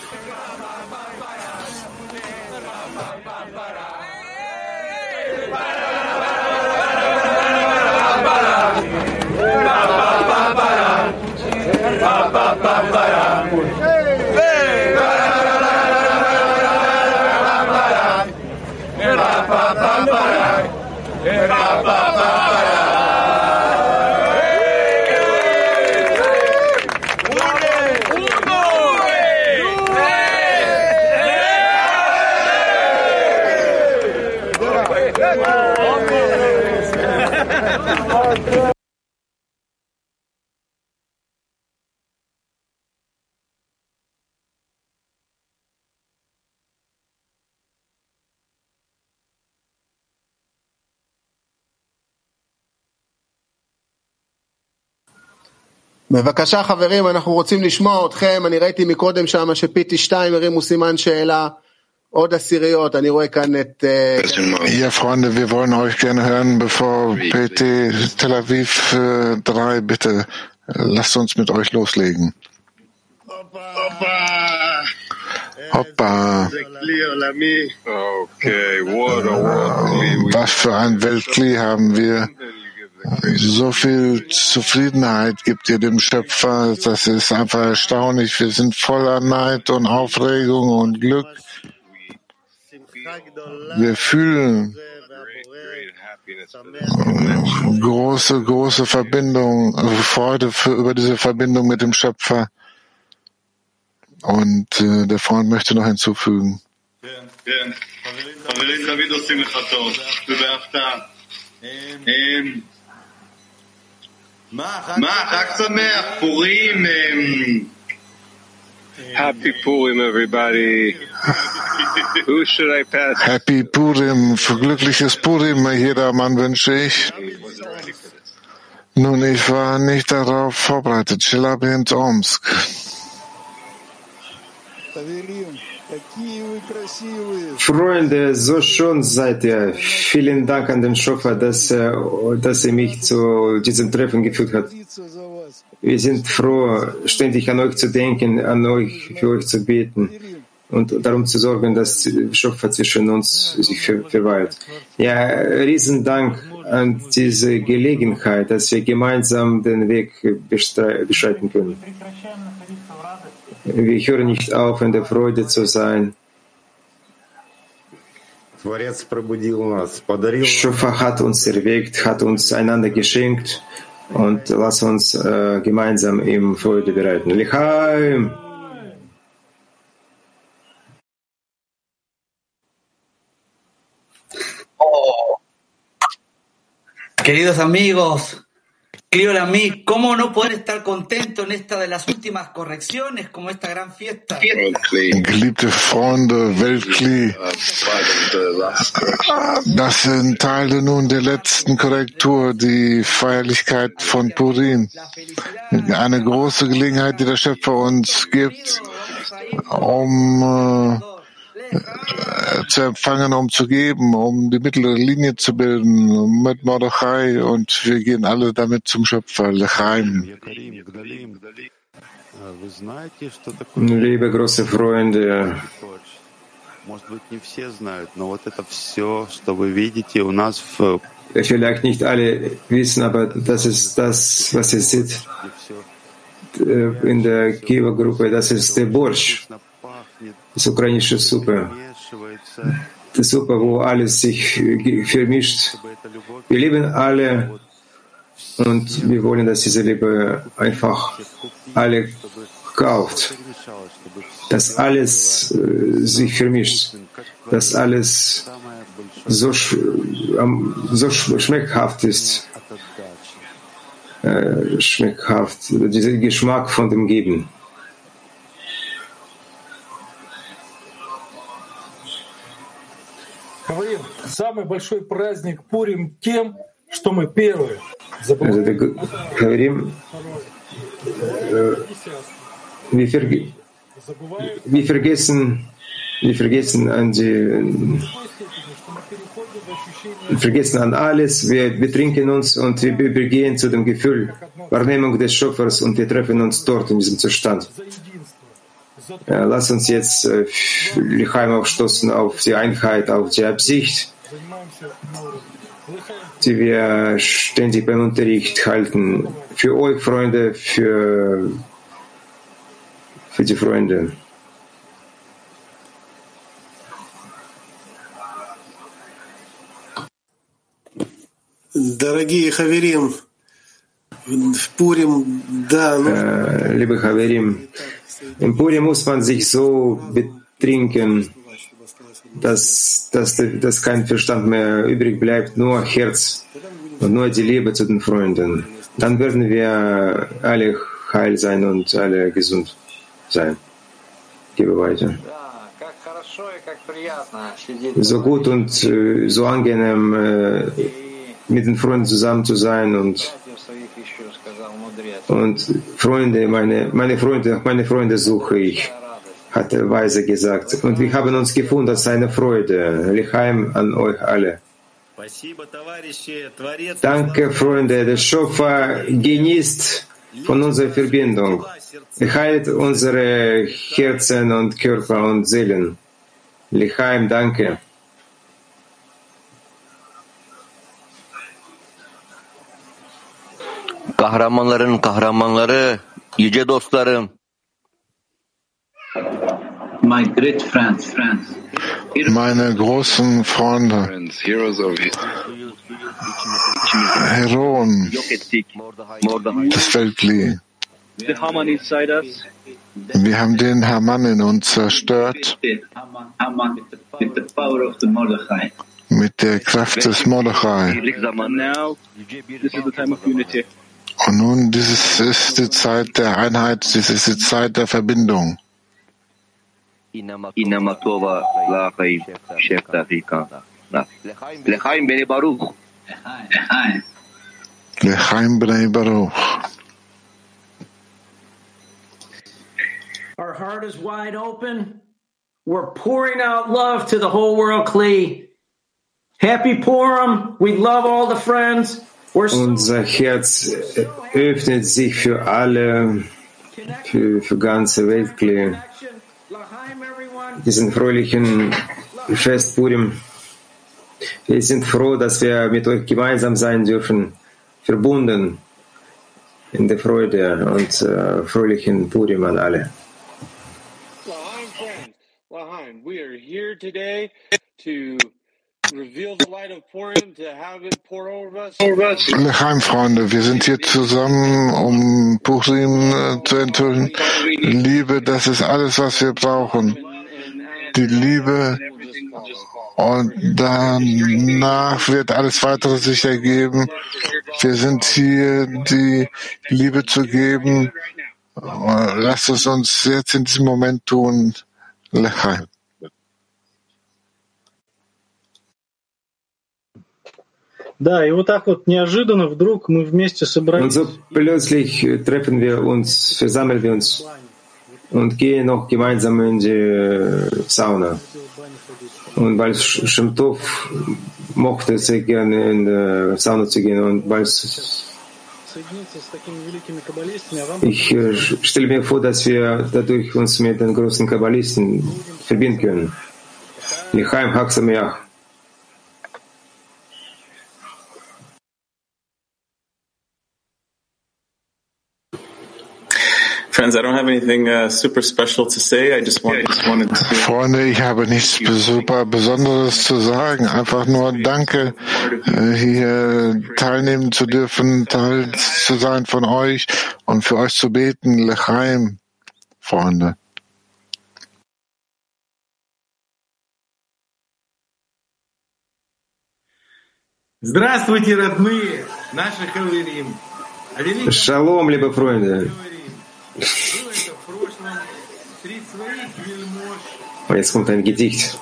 בבקשה חברים, אנחנו רוצים לשמוע אתכם. אני ראיתי מקודם שם שפיטי שתיים הרימו סימן שאלה, עוד עשיריות. אני רואה כאן את...
Ja, Freunde, wir wollen euch gerne hören, bevor P T Tel Aviv drei, bitte lasst uns mit euch loslegen. Hoppa.
Okay, what a world.
Was für ein Weltkli haben wir. So viel Zufriedenheit gibt ihr dem Schöpfer, das ist einfach erstaunlich. Wir sind voller Neid und Aufregung und Glück. Wir fühlen große, große Verbindung, Freude für, über diese Verbindung mit dem Schöpfer. Und äh, der Freund möchte noch hinzufügen.
Happy Purim, everybody. Who should I pass?
Happy Purim, für glückliches Purim, jedermann wünsche ich. Nun, ich war nicht darauf vorbereitet. Chilabint Omsk.
Freunde, so schön seid ihr. Vielen Dank an den Schöpfer, dass er, dass er mich zu diesem Treffen geführt hat. Wir sind froh, ständig an euch zu denken, an euch, für euch zu beten und darum zu sorgen, dass der Schöpfer zwischen uns sich ver- verweilt. Ja, riesen Dank an diese Gelegenheit, dass wir gemeinsam den Weg bestre- beschreiten können. Wir hören nicht auf, in der Freude zu sein. Schöpfer hat uns erweckt, hat uns einander geschenkt und lass uns äh, gemeinsam im Freude bereiten. L'chaim!
Oh. Queridos amigos, querido Lamí, ¿cómo no poder estar contento en esta de las últimas correcciones, como esta gran fiesta?
Geliebte Freunde, Weltkli, das sind Teile nun der letzten Korrektur, die Feierlichkeit von Purim. Eine große Gelegenheit, die der Schöpfer uns gibt, um äh, zu empfangen, um zu geben, um die mittlere Linie zu bilden mit Mordechai, und wir gehen alle damit zum Schöpfer, L'chaim.
Liebe große Freunde, vielleicht nicht alle wissen, aber das ist das, was ihr seht in der Kiva-Gruppe, das ist der Borsch. das ukrainische Suppe. Die Suppe, wo alles sich vermischt. Wir lieben alle und wir wollen, dass diese Liebe einfach alle kauft. Dass alles äh, sich vermischt. Dass alles so, sch ähm, so sch schmeckhaft ist. Äh, schmeckhaft. Dieser Geschmack von dem Geben.
Самый большой праздник Пурим тем, что мы первые.
Also wir говорим, äh, wir, verge wir vergessen, wir vergessen an die, wir vergessen an alles, wir betrinken uns und wir übergehen zu dem Gefühl, Wahrnehmung des Schöpfers und wir treffen uns dort in diesem Zustand. Ja, lass uns jetzt äh, L'chaim aufstoßen auf die Einheit, auf die Absicht, die wir ständig beim Unterricht halten. Für euch, Freunde, für, für die Freunde.
Дорогие хаверим, в Пурим, да, ну...
Äh, liebe Haverim, im Purim muss man sich so betrinken, dass, dass, dass kein Verstand mehr übrig bleibt, nur Herz und nur die Liebe zu den Freunden. Dann werden wir alle heil sein und alle gesund sein. Gebe weiter. So gut und äh, so angenehm äh, mit den Freunden zusammen zu sein und Und Freunde, meine, meine Freunde, meine Freunde suche ich, hat der Weise gesagt. Und wir haben uns gefunden, das ist eine Freude. L'chaim an euch alle. Danke, Freunde. Der Schöpfer genießt von unserer Verbindung. Er heilt unsere Herzen und Körper und Seelen. L'chaim, danke.
Kahramanların kahramanları, yüce dostlarım.
My great friends, friends.
Meine großen Freunde, Heroen des Weltli. Wir haben den Haman in uns zerstört mit der Kraft des Mordechai. Und nun, dieses ist die Zeit der Einheit, dies ist die Zeit der Verbindung.
L'chaim bnei Baruch.
L'chaim bnei Baruch.
Our heart is wide open. We're pouring out love to the whole world, Kli. Happy Purim. We love all the friends.
Unser Herz öffnet sich für alle, für, für ganze Welt, Kli. Diesen fröhlichen Fest Purim. Wir sind froh, dass wir mit euch gemeinsam sein dürfen, verbunden in der Freude und äh, fröhlichen Purim an alle.
L'chaim, we are here today to reveal the light of Purim, to have it pour over us.
L'chaim, Freunde, wir sind hier zusammen, um Purim äh, zu enthüllen. Liebe, das ist alles, was wir brauchen. Die Liebe, und danach wird alles weitere sich ergeben. Wir sind hier, die Liebe zu geben. Lasst es uns jetzt in diesem Moment tun. L'chaim.
Да, и вот так вот неожиданно вдруг мы вместе собрались.
Und so plötzlich treffen wir uns, versammeln wir uns und gehen noch gemeinsam in die Sauna. Und weil Shem Tov mochte sehr gerne in die Sauna zu gehen und weil ich äh, stelle mir vor, dass wir dadurch uns mit den großen Kabbalisten verbinden können. L'chaim, Chag Sameach.
Friends, I don't have anything uh, super special to say. I just, want, just wanted to...
Freunde, ich habe nichts super Besonderes zu sagen. Einfach nur Danke, hier teilnehmen zu dürfen, Teil zu sein von euch und für euch zu beten. L'chaim, Freunde.
Здравствуйте, родные, наши хаверим.
Шалом, liebe Freunde. Und jetzt kommt ein Gedicht.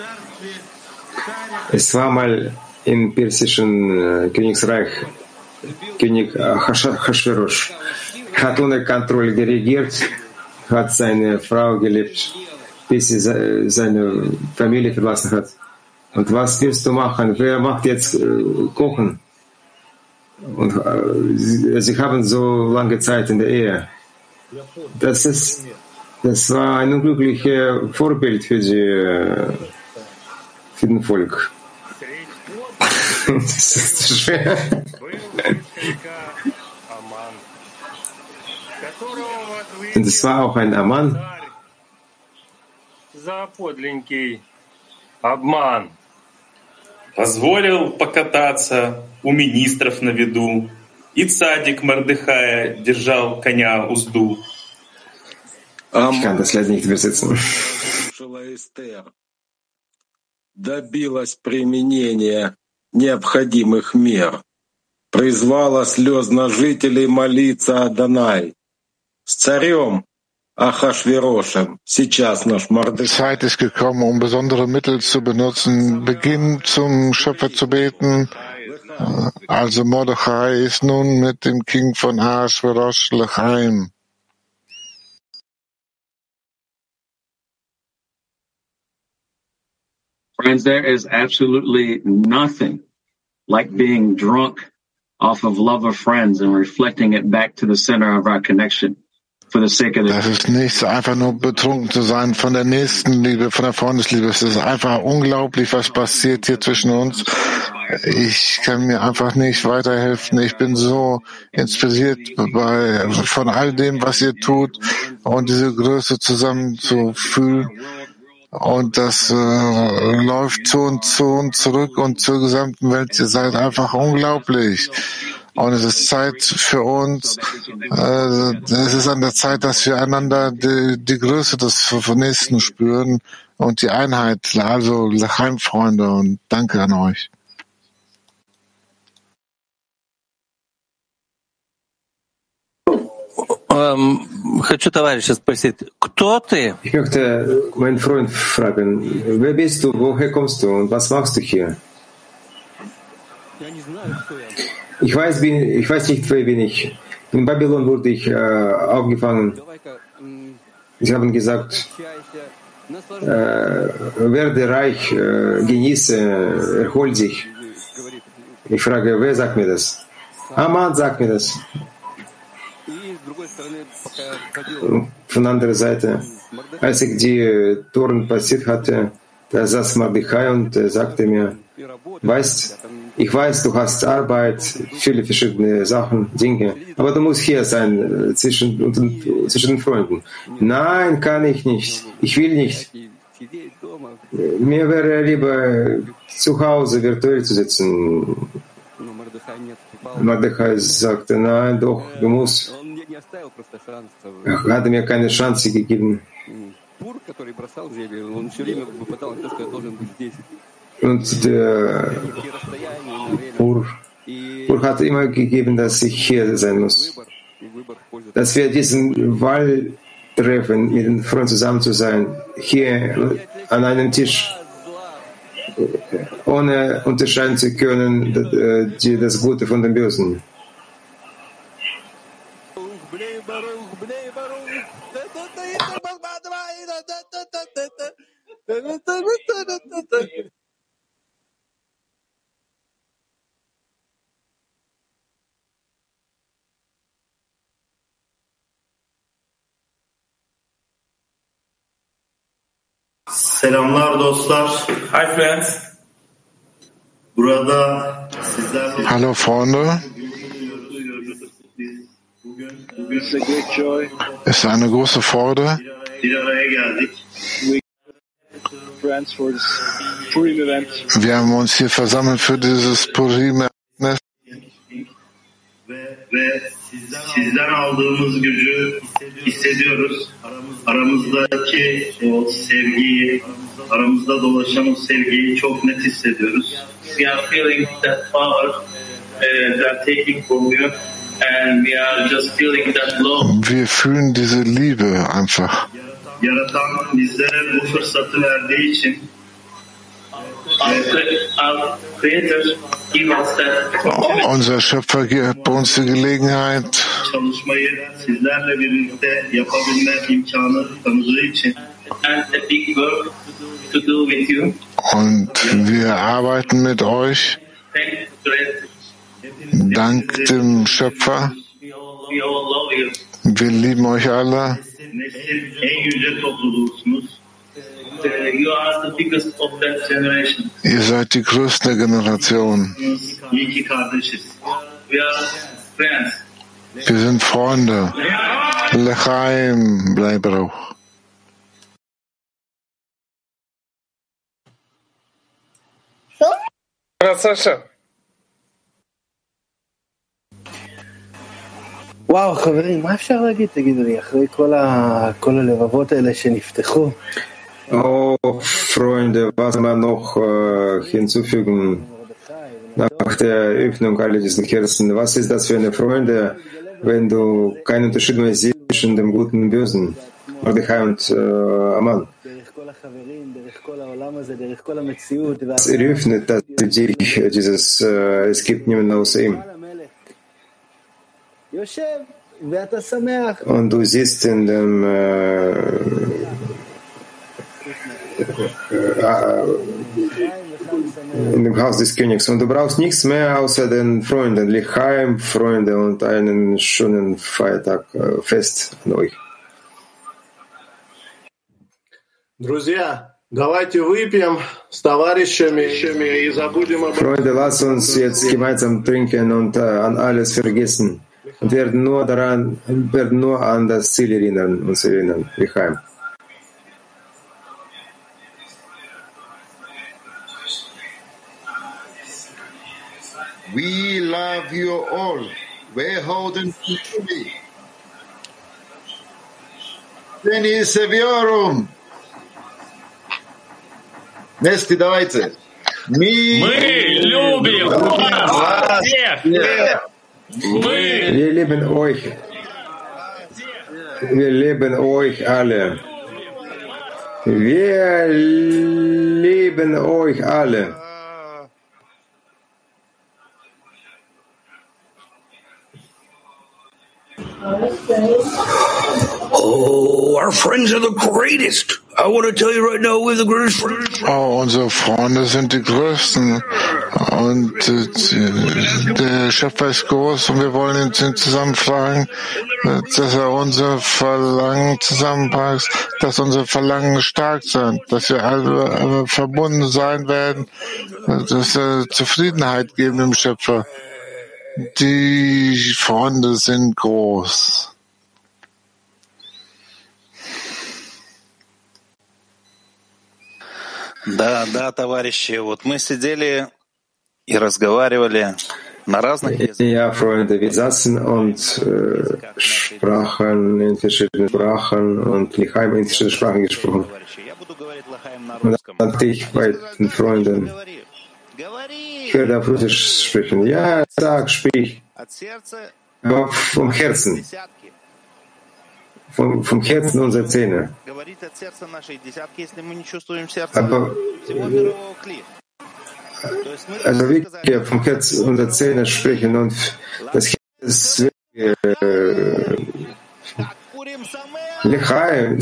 Es war mal im persischen äh, Königsreich König Achashverosh. Hat ohne Kontrolle geregiert, hat seine Frau gelebt, bis sie seine Familie verlassen hat. Und was willst du machen? Wer macht jetzt äh, Kochen? Und äh, sie, sie haben so lange Zeit in der Ehe. Das ist, das war ein unglückliches Vorbild für die, äh, für den Volk. Das ist schwer. Und es war auch ein Aman.
Позволил покататься у министров на виду, и цадик Мордехая держал коня узду.
Ich kann das leider nicht übersetzen.
Добилась применения необходимых мер, призвала слезно жителей молиться Адонай. С царем Achashveroschem, сейчас наш Мордechai.
Zeit ist gekommen, um besondere Mittel zu benutzen. Beginn zum Schöpfer zu beten. Also Mordechai ist nun mit dem King von Ahasverosh L'chaim.
Friends, there is absolutely nothing like being drunk off of love of friends and reflecting it back to the center of our connection. Das
ist nichts, einfach nur betrunken zu sein von der Nächstenliebe, von der Freundesliebe. Es ist einfach unglaublich, was passiert hier zwischen uns. Ich kann mir einfach nicht weiterhelfen. Ich bin so inspiriert bei, von all dem, was ihr tut und diese Größe zusammen zu fühlen. Und das äh, läuft zu und zu und zurück und zur gesamten Welt. Ihr seid einfach unglaublich. Und es ist Zeit für uns, äh, es ist an der Zeit, dass wir einander die, die Größe des Nächsten spüren und die Einheit. Also L'chaim, Freunde, und danke an euch.
Ich möchte meinen Freund fragen, wer bist du, woher kommst du und was machst du hier? Ich weiß, bin, ich weiß nicht, wer bin ich. In Babylon wurde ich äh, aufgefangen. Sie haben gesagt, äh, werde reich, äh, genieße, erhol sich. Ich frage, wer sagt mir das? Aman sagt mir das. Von der anderen Seite, als ich die Toren passiert hatte, da saß Mordechai und äh, sagte mir, weißt, ich weiß, du hast Arbeit, viele verschiedene Sachen, Dinge, aber du musst hier sein, äh, zwischen, und, zwischen den Freunden. Nein, kann ich nicht. Ich will nicht. Mir wäre lieber zu Hause virtuell zu sitzen. Mordechai sagte, nein, doch, du musst. Er hatte mir keine Chance gegeben. Und der Pur, Pur hat immer gegeben, dass ich hier sein muss. Dass wir diesen Wahl treffen, mit den Freunden zusammen zu sein, hier an einem Tisch, ohne unterscheiden zu können, das Gute von dem Bösen.
Selamlar dostlar.
Hi friends.
Burada sizlerle
Hallo Freunde. Es ist eine große Freude. Wir haben uns hier versammelt für dieses Purim-Ereignis.
Ve sizden aldığımız gücü hissediyoruz. Aramızdaki o sevgiyi, aramızda dolaşan o sevgiyi çok net hissediyoruz. We are feeling that power uh, that taking from you, and we are just feeling that love.
Wir fühlen diese Liebe einfach.
Yaratan bizlere bu fırsatı verdiği için
unser Schöpfer gibt uns die Gelegenheit, und wir arbeiten mit euch, dank dem Schöpfer. Wir lieben euch alle. Ihr seid die größte Generation. Wir sind Freunde. L'chaim, bleib Baruch.
וואו, חברים, מה אפשר להגיד, תגידו לי, אחרי כל, ה... כל הלבבות האלה שנפתחו?
Oh, Freunde, was man noch äh, hinzufügen nach der Öffnung all diesen Herzen? Was ist das für eine Freude, wenn du keinen Unterschied mehr siehst zwischen dem Guten und Bösen, Mordechai und äh, Aman? Es eröffnet das dich, dieses, äh, es gibt niemanden außer ihm. Und du siehst in dem äh, in dem Haus des Königs und du brauchst nichts mehr außer den Freunden, L'chaim, Freunde und einen schönen Feiertag, äh, Fest an euch.
Друзья, давайте выпьем с товарищами и забудем об...
Freunde, lasst uns jetzt gemeinsam trinken und äh, an alles vergessen und werden nur daran, werden nur an das Ziel erinnern, uns erinnern, L'chaim.
We love you all. We're holding you. Denis Seviorum. Нести, давайте. Мы
любим вас всех.
Wir lieben euch. Wir lieben euch alle. Wir lieben euch alle.
Oh, our friends are the greatest. I want to tell you right now, we're the greatest friends.
Oh, unsere Freunde sind die größten. Und äh, der Schöpfer ist groß und wir wollen ihn zusammen fragen, dass er unser Verlangen zusammenpackt, dass unsere Verlangen stark sind, dass wir alle verbunden sein werden, dass wir Zufriedenheit geben dem Schöpfer. Die Freunde sind groß.
Да, да, товарищи, вот мы сидели и разговаривали на разных языках.
Ja, Freunde, wir saßen und äh, sprachen in verschiedenen Sprachen und L'chaim in verschiedenen Sprachen gesprochen. Und dann dachte ich bei den Freunden, ich werde auf Russisch sprechen. Ja, sag, sprich. Aber vom Herzen. Vom, vom Herzen unserer Zähne. Aber, also wirklich vom Herzen unserer Zähne sprechen und das Herz ist äh, L'chaim.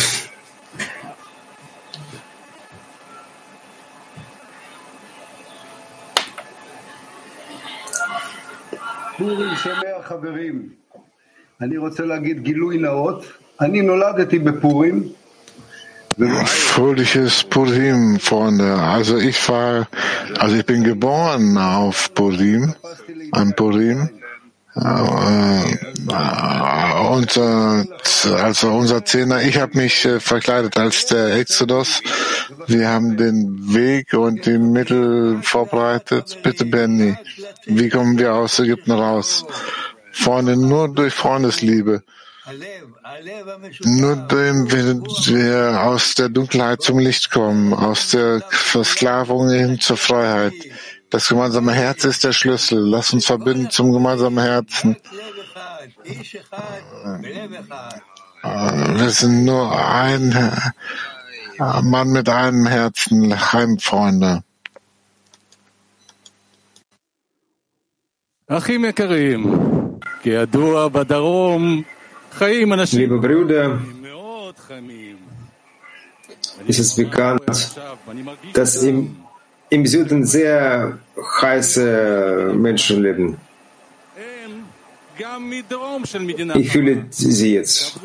פורים שמח חברים. אני רוצה להגיד גילוי נאות. אני נולדתי בפורים.
Fröhliches Purim, Freunde. Also ich war, also ich bin geboren auf Purim, an Purim. Äh, unser, also unser Zehner, ich habe mich äh, verkleidet als der Exodus. Wir haben den Weg und die Mittel vorbereitet. Bitte, Benny, wie kommen wir aus Ägypten raus? Freunde, nur durch Freundesliebe. Nur indem wir aus der Dunkelheit zum Licht kommen, aus der Versklavung hin zur Freiheit. Das gemeinsame Herz ist der Schlüssel. Lass uns verbinden zum gemeinsamen Herzen. Wir sind nur ein Mann mit einem Herzen, Heimfreunde.
Liebe Brüder, es ist bekannt, dass im, im Süden sehr heiße Menschen leben. Ich fühle sie jetzt.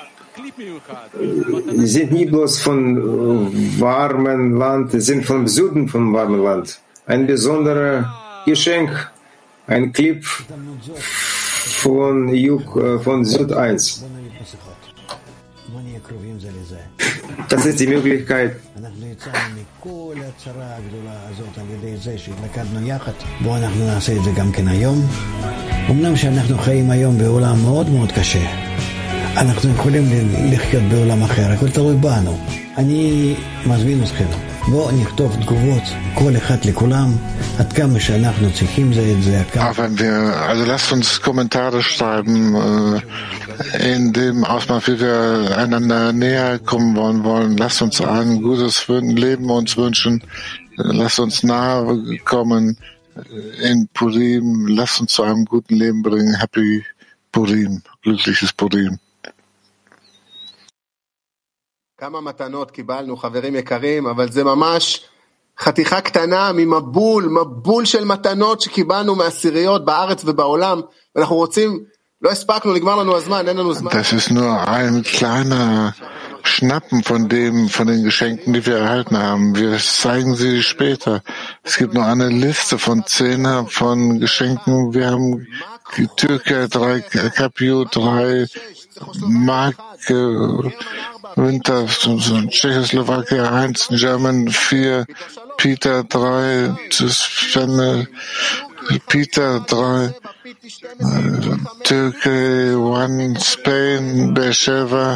Sie sind nie bloß von warmem Land, sie sind vom Süden vom warmen Land. Ein besonderes Geschenk, ein Clip von, von Süd eins. Das ist die Möglichkeit.
אמנם שאנחנו חיים היום בעולם מאוד מאוד קשה, אנחנו יכולים לחיות בעולם אחר, הכל תלוי בנו. אני מזמין אתכם, בואו נכתוב תגובות, כל אחד לכולם, עד כמה שאנחנו צריכים זה את זה.
Wenn wir, also lasst uns Kommentare schreiben, in dem Ausmaß, wie wir einander näher kommen wollen, wollen. Lasst uns ein gutes Leben uns wünschen, lasst uns nahe kommen in Purim, lasst uns zu einem guten Leben bringen. Happy Purim, glückliches Purim.
כמה מתנות קיבלנו, חברים יקרים, אבל זה ממש חתיכה קטנה ממבול, מבול של מתנות שקיבלנו מעשיריות בארץ ובעולם, ואנחנו רוצים, לא הספקנו, נגמר לנו הזמן, אין לנו זמן.
Das ist nur ein kleiner Schnappen von dem, von den Geschenken, die wir erhalten haben. Wir zeigen sie später. Es gibt noch eine Liste von Zehner von Geschenken. Wir haben Türkei drei, Capio drei, Mark, Winter, Tschechoslowakei eins, German vier, Peter drei, Peter drei, Türkei one, Spain, Beersheba,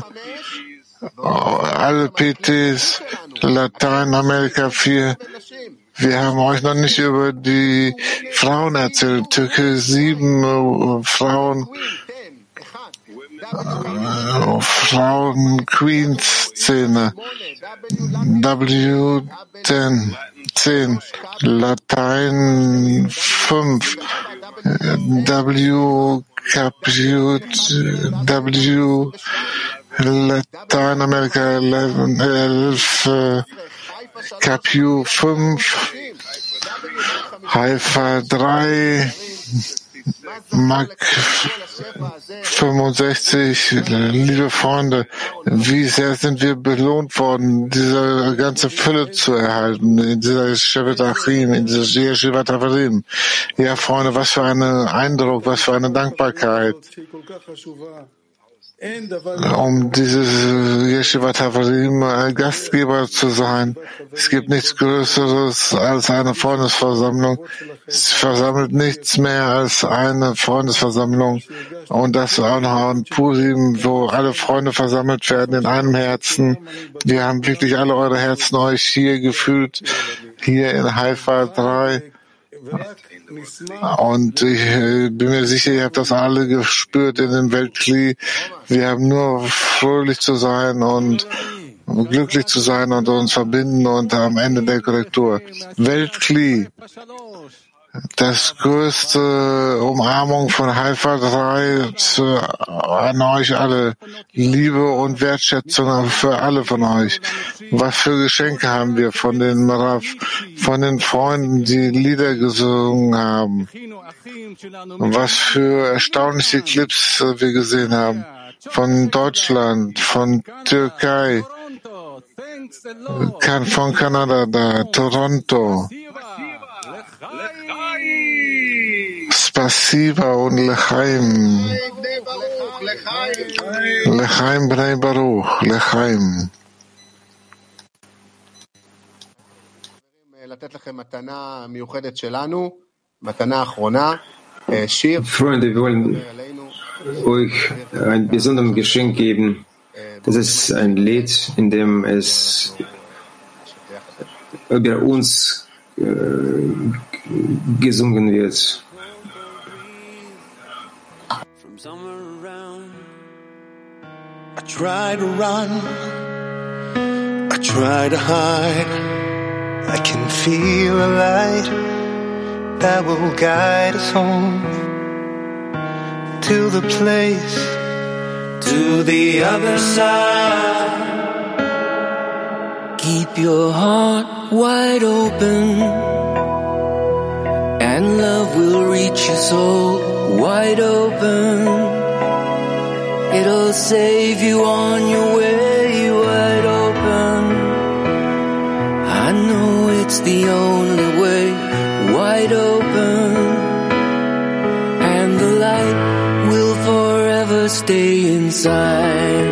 alle P Ts, Lateinamerika vier. Wir haben euch noch nicht über die Frauen erzählt. Türkei sieben Frauen, äh, Frauen Queens Szene, W zehn, zehn, Latein fünf, W Caput, W Lateinamerika elf, Capu fünf, Haifa drei, Mac fünfundsechzig. Liebe Freunde, wie sehr sind wir belohnt worden, diese ganze Fülle zu erhalten, in dieser Shevet Achim, in dieser Yeshivat Havarim. Ja, Freunde, was für ein Eindruck, was für eine Dankbarkeit, um dieses Yeshivat Havarim Gastgeber zu sein. Es gibt nichts Größeres als eine Freundesversammlung. Es versammelt nichts mehr als eine Freundesversammlung. Und das auch noch an Purim, wo alle Freunde versammelt werden in einem Herzen. Wir haben wirklich alle eure Herzen euch hier gefühlt, hier in Haifa drei. Und ich bin mir sicher, ihr habt das alle gespürt in dem Weltkli. Wir haben nur fröhlich zu sein und glücklich zu sein und uns verbinden und am Ende der Korrektur. Weltkli, das größte Umarmung von Haifa drei an euch alle. Liebe und Wertschätzung für alle von euch. Was für Geschenke haben wir von den Marav, von den Freunden, die Lieder gesungen haben. Und was für erstaunliche Clips wir gesehen haben. Von Deutschland, von Türkei, von Kanada, da, Toronto. Siva und Lechaim. Lechaim Bnei Baruch. Lechaim.
Freunde, wir wollen euch ein besonderes Geschenk geben. Das ist ein Lied, in dem es über uns äh, gesungen wird.
I try to run, I try to hide. I can feel a light that will guide us home to the place, to the other side.
Keep your heart wide open, and love will reach your soul wide open. It'll save you on your way wide open. I know it's the only way wide open, and the light will forever stay inside.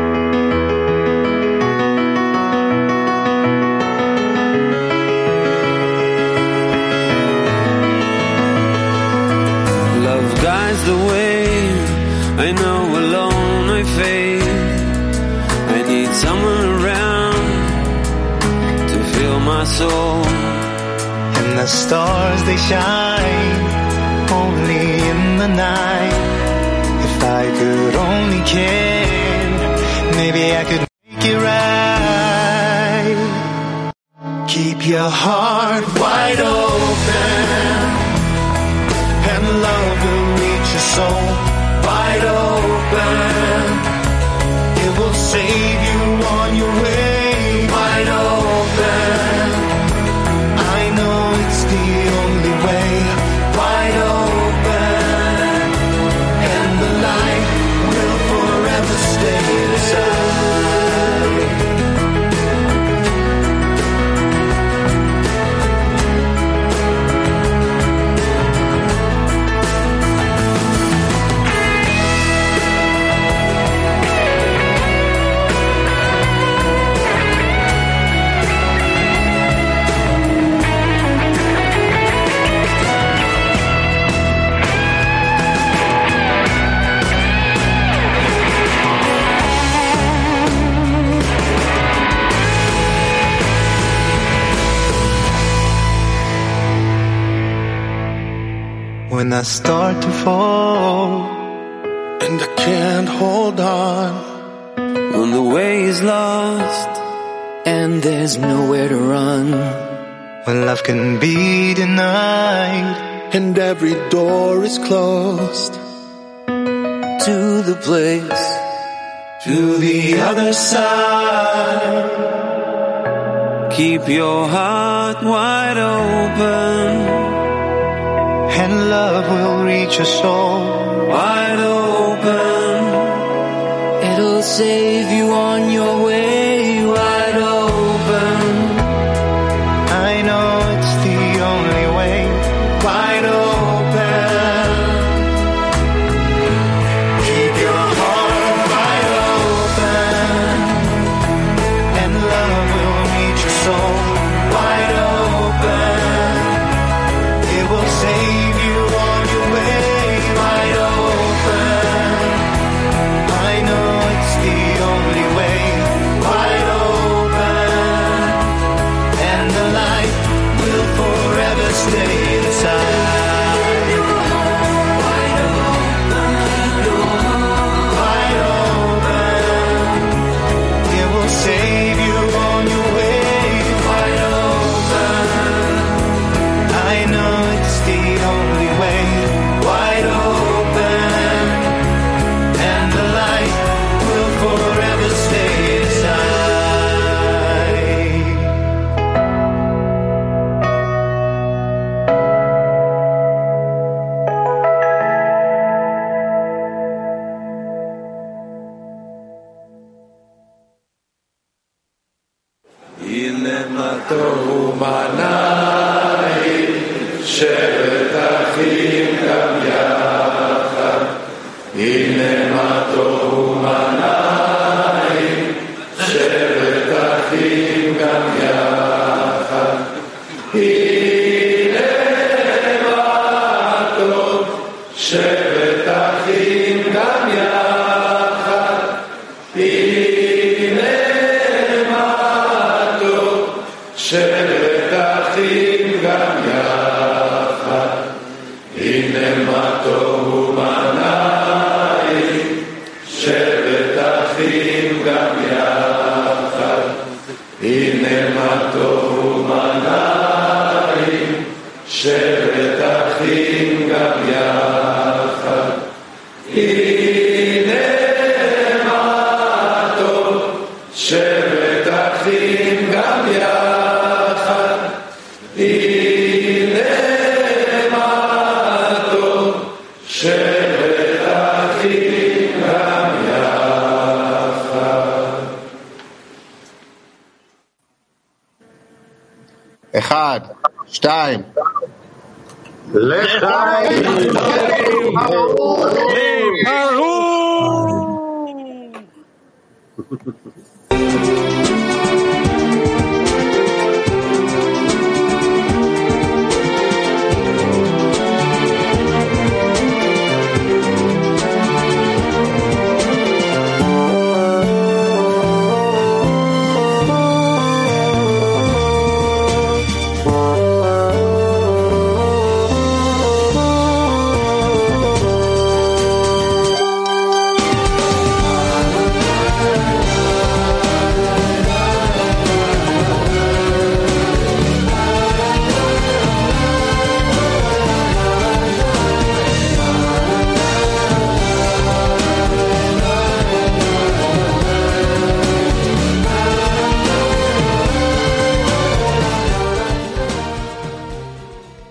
Love guides the way. I know alone I fail. I need someone around to fill my soul.
And the stars they shine only in the night. If I could only care, maybe I could make it right. Keep your heart wide open, and love will reach your soul wide open. It will save you on your way wide open. I know it's the only way wide open, and the light will forever stay inside. When I start to fall and I can't hold on,
when the way is lost
and there's nowhere to run,
when love can be denied and every door is closed,
to the place,
to the other side. Keep your heart wide open,
and love will reach your soul
wide open.
It'll save you on your way wide open.
I know it's the only way wide open. Keep your heart wide open, and love will reach your soul wide open. It will save you on your way wide open. I know it's the only way wide open, and the light will forever stay inside. Wide open, wide open. It will save you on your way wide open. I know it's the only way wide open, and the light will forever stay inside.
הנה מה טוב ומנעים, שבת אחים גם
אחד, שתיים.
לחיים!
ברור!